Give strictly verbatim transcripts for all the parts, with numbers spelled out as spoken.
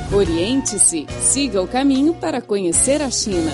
Oriente-se, siga o caminho para conhecer a China.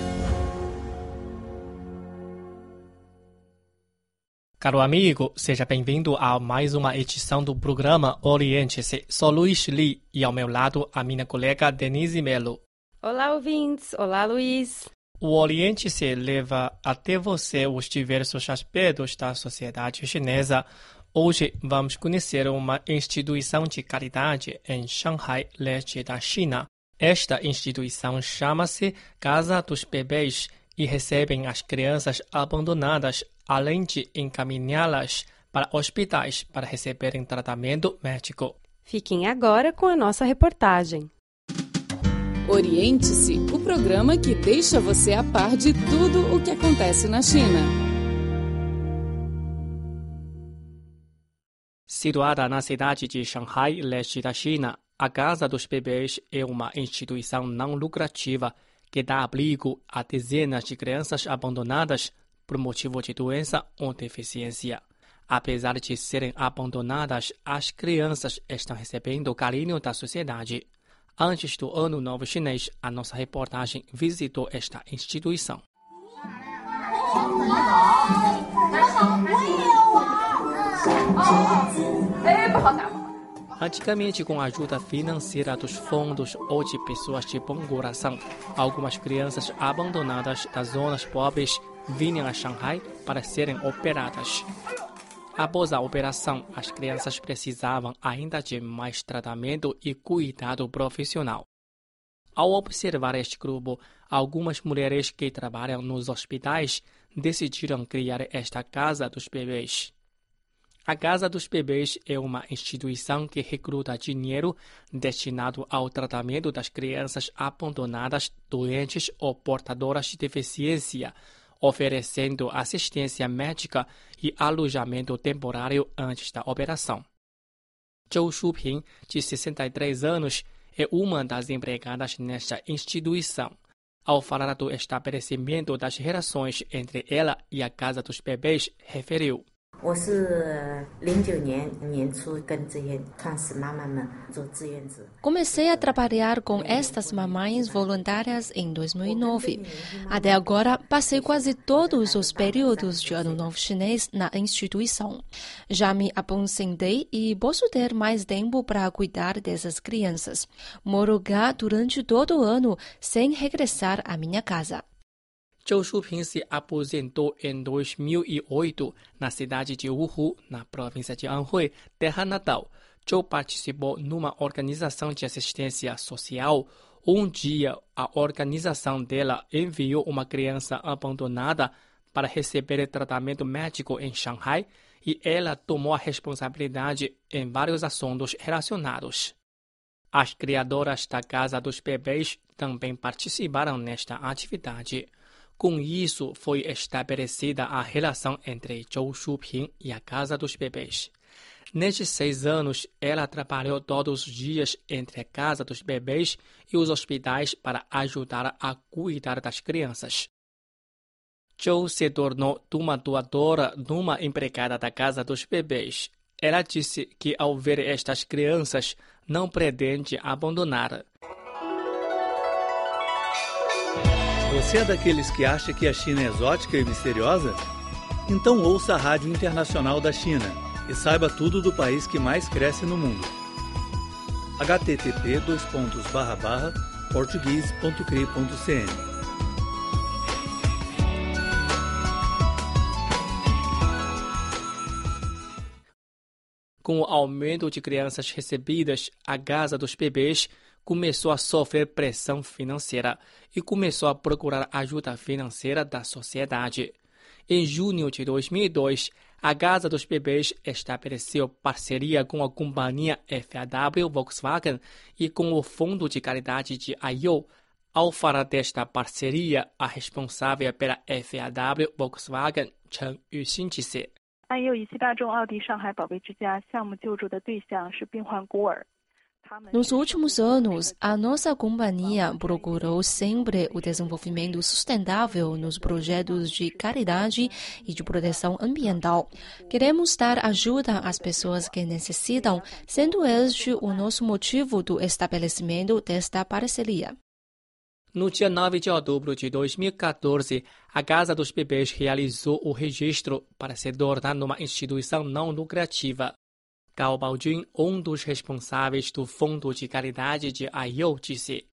Caro amigo, seja bem-vindo a mais uma edição do programa Oriente-se. Sou Luiz Li e ao meu lado a minha colega Denise Melo. Olá, ouvintes. Olá, Luiz. O Oriente-se leva até você os diversos aspectos da sociedade chinesa. Hoje vamos conhecer uma instituição de caridade em Shanghai, leste da China. Esta instituição chama-se Casa dos Bebês e recebem as crianças abandonadas, além de encaminhá-las para hospitais para receberem tratamento médico. Fiquem agora com a nossa reportagem. Oriente-se, o programa que deixa você a par de tudo o que acontece na China. Situada na cidade de Shanghai, leste da China, a Casa dos Bebês é uma instituição não lucrativa que dá abrigo a dezenas de crianças abandonadas por motivo de doença ou deficiência. Apesar de serem abandonadas, as crianças estão recebendo o carinho da sociedade. Antes do Ano Novo Chinês, a nossa reportagem visitou esta instituição. Antigamente, com a ajuda financeira dos fundos ou de pessoas de bom coração, algumas crianças abandonadas das zonas pobres vinham a Shanghai para serem operadas. Após a operação, as crianças precisavam ainda de mais tratamento e cuidado profissional. Ao observar este grupo, algumas mulheres que trabalham nos hospitais decidiram criar esta Casa dos Bebês. A Casa dos Bebês é uma instituição que recruta dinheiro destinado ao tratamento das crianças abandonadas, doentes ou portadoras de deficiência, oferecendo assistência médica e alojamento temporário antes da operação. Zhou Shuping, de sessenta e três anos, é uma das empregadas nesta instituição. Ao falar do estabelecimento das relações entre ela e a Casa dos Bebês, referiu: Comecei a trabalhar com estas mamães voluntárias em dois mil e nove. Até agora, passei quase todos os períodos de Ano Novo Chinês na instituição. Já me aposentei e posso ter mais tempo para cuidar dessas crianças. Moro cá durante todo o ano sem regressar à minha casa. Zhou Shuping se aposentou em dois mil e oito na cidade de Wuhu, na província de Anhui, terra natal. Zhou participou numa organização de assistência social. Um dia, a organização dela enviou uma criança abandonada para receber tratamento médico em Shanghai e ela tomou a responsabilidade em vários assuntos relacionados. As criadoras da Casa dos Bebês também participaram nesta atividade. Com isso, foi estabelecida a relação entre Zhou Shuping e a Casa dos Bebês. Nestes seis anos, ela trabalhou todos os dias entre a Casa dos Bebês e os hospitais para ajudar a cuidar das crianças. Zhou se tornou uma doadora numa empregada da Casa dos Bebês. Ela disse que, ao ver estas crianças, não pretende abandonar. Você é daqueles que acha que a China é exótica e misteriosa? Então ouça a Rádio Internacional da China e saiba tudo do país que mais cresce no mundo. h t t p dois pontos barra barra português ponto cri ponto c n Com o aumento de crianças recebidas, a Casa dos Bebês começou a sofrer pressão financeira e começou a procurar ajuda financeira da sociedade. Em junho de dois mil e dois, a Casa dos Bebês estabeleceu parceria com a companhia F A W Volkswagen e com o Fundo de Caridade de Aiyou. Ao falar desta parceria, a responsável pela F A W Volkswagen, Chen Yuxin, disse: 安佑仪器大众奥迪上海宝贝之家项目救助的对象是病患孤儿， Nos últimos anos, a nossa companhia procurou sempre o desenvolvimento sustentável nos projetos de caridade e de proteção ambiental. Queremos dar ajuda às pessoas que necessitam, sendo este o nosso motivo do estabelecimento desta parceria. No dia nove de outubro de dois mil e quatorze, a Casa dos Bebês realizou o registro para se tornar uma instituição não lucrativa. Gao Baojun, um dos responsáveis do Fundo de Caridade de Aiyou, disse: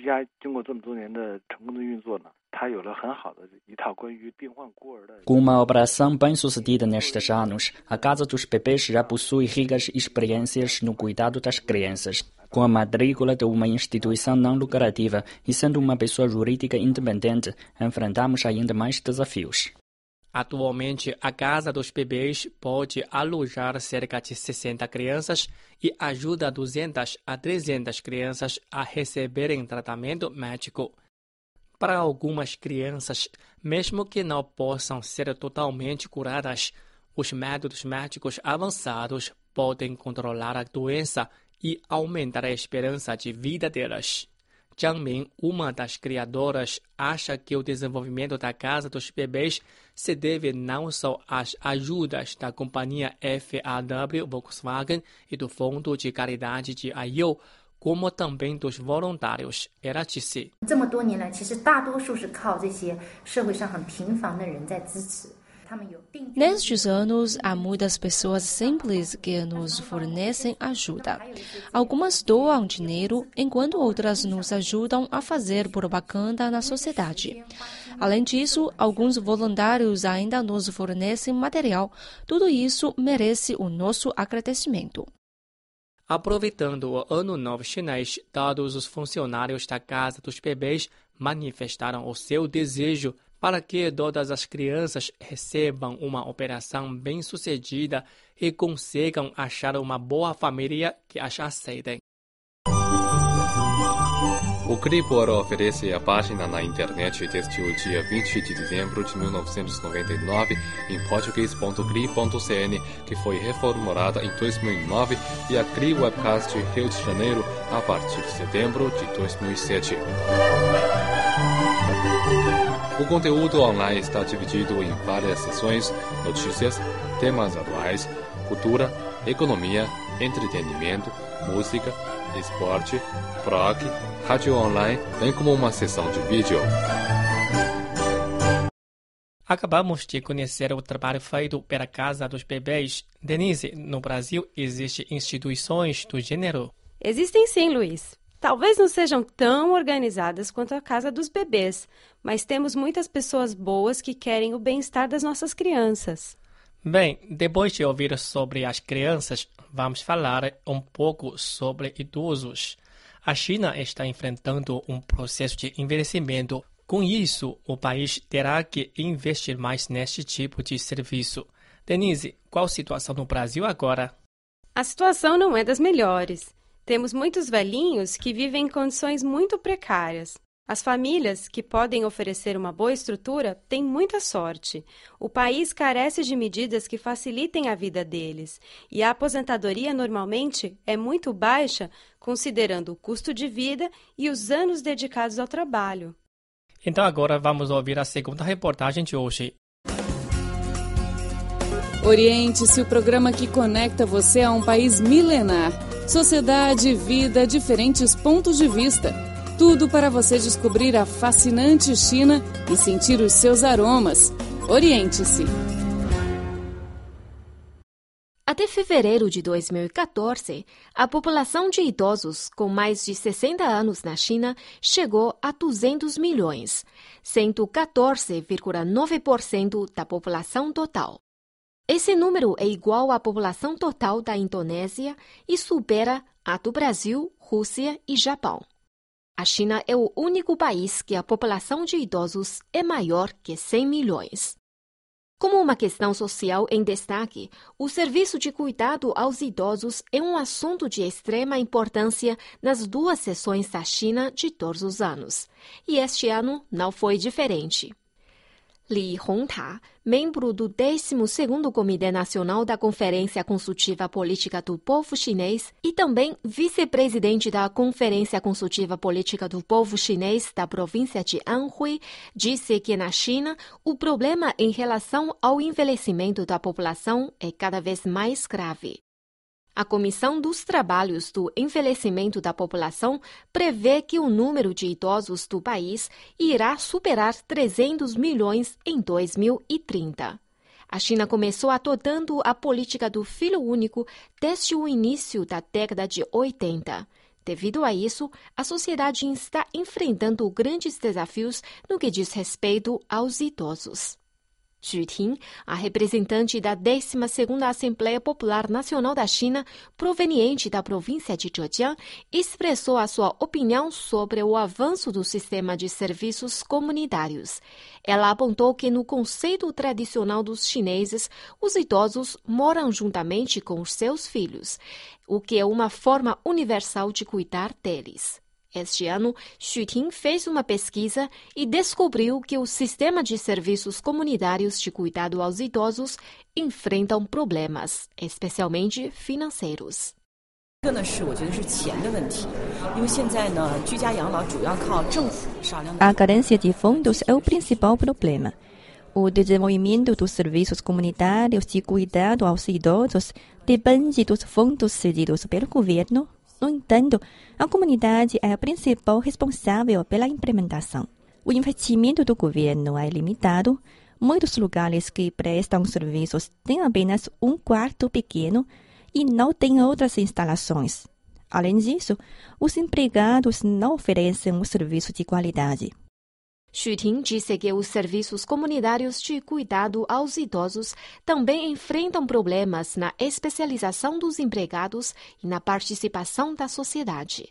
Com uma operação bem-sucedida nestes anos, a Casa dos Bebês já possui ricas experiências no cuidado das crianças. Com a matrícula de uma instituição não lucrativa e sendo uma pessoa jurídica independente, enfrentamos ainda mais desafios. Atualmente, a Casa dos Bebês pode alojar cerca de sessenta crianças e ajuda duzentas a trezentas crianças a receberem tratamento médico. Para algumas crianças, mesmo que não possam ser totalmente curadas, os métodos médicos avançados podem controlar a doença e aumentar a esperança de vida delas. Zhang Min, uma das criadoras, acha que o desenvolvimento da Casa dos Bebês se deve não só às ajudas da companhia F A W Volkswagen e do Fundo de Caridade de Aiyou, como também dos voluntários. Ela disse: Nestes anos, há muitas pessoas simples que nos fornecem ajuda. Algumas doam dinheiro, enquanto outras nos ajudam a fazer propaganda na sociedade. Além disso, alguns voluntários ainda nos fornecem material. Tudo isso merece o nosso agradecimento. Aproveitando o Ano Novo Chinês, todos os funcionários da Casa dos Bebês manifestaram o seu desejo para que todas as crianças recebam uma operação bem-sucedida e consigam achar uma boa família que as aceitem. O Cribor oferece a página na internet desde o dia vinte de dezembro de mil novecentos e noventa e nove em português ponto cri ponto c n, que foi reformulada em dois mil e nove, e a Cri Webcast Rio de Janeiro a partir de setembro de dois mil e sete. O conteúdo online está dividido em várias seções: notícias, temas atuais, cultura, economia, entretenimento, música, esporte, blog, rádio online, bem como uma seção de vídeo. Acabamos de conhecer o trabalho feito pela Casa dos Bebês. Denise, no Brasil existem instituições do gênero? Existem sim, Luiz. Talvez não sejam tão organizadas quanto a Casa dos Bebês, mas temos muitas pessoas boas que querem o bem-estar das nossas crianças. Bem, depois de ouvir sobre as crianças, vamos falar um pouco sobre idosos. A China está enfrentando um processo de envelhecimento. Com isso, o país terá que investir mais neste tipo de serviço. Denise, qual a situação no Brasil agora? A situação não é das melhores. Temos muitos velhinhos que vivem em condições muito precárias. As famílias que podem oferecer uma boa estrutura têm muita sorte. O país carece de medidas que facilitem a vida deles, e a aposentadoria normalmente é muito baixa, considerando o custo de vida e os anos dedicados ao trabalho. Então agora vamos ouvir a segunda reportagem de hoje. Oriente-se, o programa que conecta você a um país milenar. Sociedade, vida, diferentes pontos de vista. Tudo para você descobrir a fascinante China e sentir os seus aromas. Oriente-se. Até fevereiro de dois mil e quatorze, a população de idosos com mais de sessenta anos na China chegou a duzentos milhões, cento e quatorze vírgula nove por cento da população total. Esse número é igual à população total da Indonésia e supera a do Brasil, Rússia e Japão. A China é o único país que a população de idosos é maior que cem milhões. Como uma questão social em destaque, o serviço de cuidado aos idosos é um assunto de extrema importância nas duas sessões da China de todos os anos. E este ano não foi diferente. Li Hongta, membro do décimo segundo Comitê Nacional da Conferência Consultiva Política do Povo Chinês e também vice-presidente da Conferência Consultiva Política do Povo Chinês da província de Anhui, disse que na China o problema em relação ao envelhecimento da população é cada vez mais grave. A Comissão dos Trabalhos do Envelhecimento da População prevê que o número de idosos do país irá superar trezentos milhões em dois mil e trinta. A China começou adotando a política do filho único desde o início da década de oitenta. Devido a isso, a sociedade está enfrentando grandes desafios no que diz respeito aos idosos. Xu Ting, a representante da décima segunda Assembleia Popular Nacional da China, proveniente da província de Zhejiang, expressou a sua opinião sobre o avanço do sistema de serviços comunitários. Ela apontou que no conceito tradicional dos chineses, os idosos moram juntamente com os seus filhos, o que é uma forma universal de cuidar deles. Este ano, Xu Ting fez uma pesquisa e descobriu que o sistema de serviços comunitários de cuidado aos idosos enfrentam problemas, especialmente financeiros. A carência de fundos é o principal problema. O desenvolvimento dos serviços comunitários de cuidado aos idosos depende dos fundos cedidos pelo governo. No entanto, a comunidade é a principal responsável pela implementação. O investimento do governo é limitado. Muitos lugares que prestam serviços têm apenas um quarto pequeno e não têm outras instalações. Além disso, os empregados não oferecem um serviço de qualidade. Xu Ting disse que os serviços comunitários de cuidado aos idosos também enfrentam problemas na especialização dos empregados e na participação da sociedade.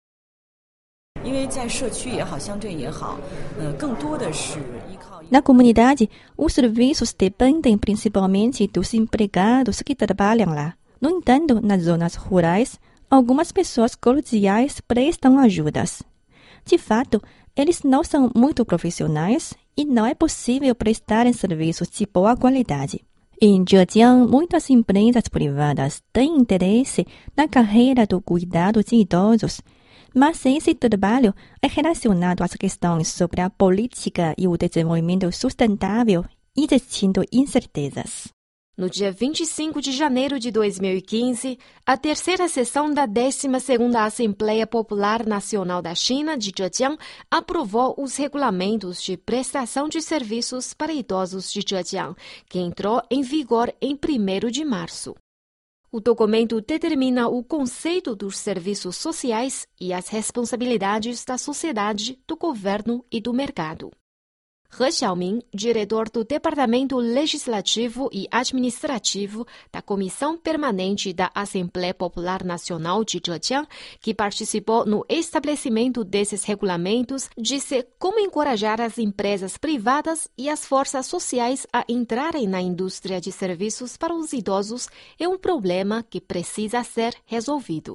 Na comunidade, os serviços dependem principalmente dos empregados que trabalham lá. No entanto, nas zonas rurais, algumas pessoas cordiais prestam ajudas. De fato, eles não são muito profissionais e não é possível prestarem serviços de boa qualidade. Em Zhejiang, muitas empresas privadas têm interesse na carreira do cuidado de idosos, mas esse trabalho é relacionado às questões sobre a política e o desenvolvimento sustentável, existindo incertezas. No dia vinte e cinco de janeiro de dois mil e quinze, a terceira sessão da décima segunda Assembleia Popular Nacional da China, de Zhejiang, aprovou os regulamentos de prestação de serviços para idosos de Zhejiang, que entrou em vigor em primeiro de março. O documento determina o conceito dos serviços sociais e as responsabilidades da sociedade, do governo e do mercado. He Xiaoming, diretor do Departamento Legislativo e Administrativo da Comissão Permanente da Assembleia Popular Nacional de Zhejiang, que participou no estabelecimento desses regulamentos, disse como encorajar as empresas privadas e as forças sociais a entrarem na indústria de serviços para os idosos é um problema que precisa ser resolvido.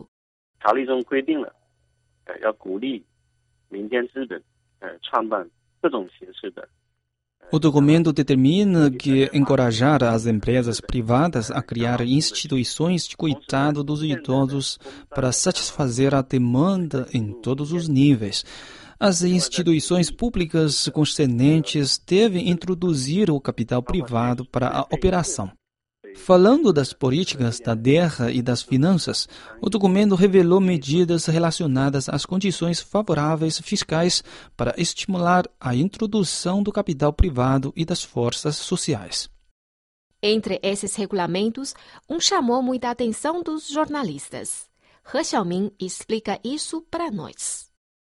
O documento determina que encorajar as empresas privadas a criar instituições de cuidado dos idosos para satisfazer a demanda em todos os níveis. As instituições públicas concernentes devem introduzir o capital privado para a operação. Falando das políticas da terra e das finanças, o documento revelou medidas relacionadas às condições favoráveis fiscais para estimular a introdução do capital privado e das forças sociais. Entre esses regulamentos, um chamou muita atenção dos jornalistas. He Xiaoming explica isso para nós.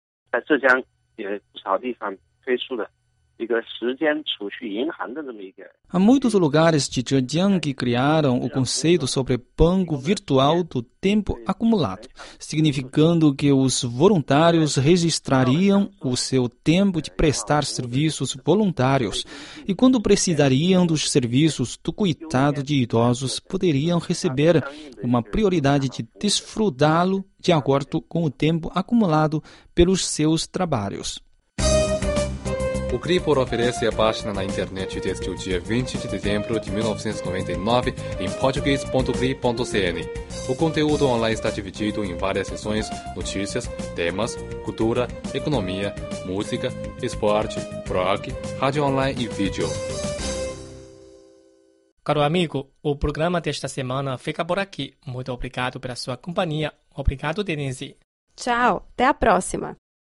Há muitos lugares de Zhejiang que criaram o conceito sobre banco virtual do tempo acumulado, significando que os voluntários registrariam o seu tempo de prestar serviços voluntários e, quando precisariam dos serviços do cuidado de idosos, poderiam receber uma prioridade de desfrutá-lo de acordo com o tempo acumulado pelos seus trabalhos. O Cripor oferece a página na internet desde o dia vinte de dezembro de mil novecentos e noventa e nove em português ponto cri ponto cn. O conteúdo online está dividido em várias seções: notícias, temas, cultura, economia, música, esporte, blog, rádio online e vídeo. Caro amigo, o programa desta semana fica por aqui. Muito obrigado pela sua companhia. Obrigado, Denise. Tchau, até a próxima.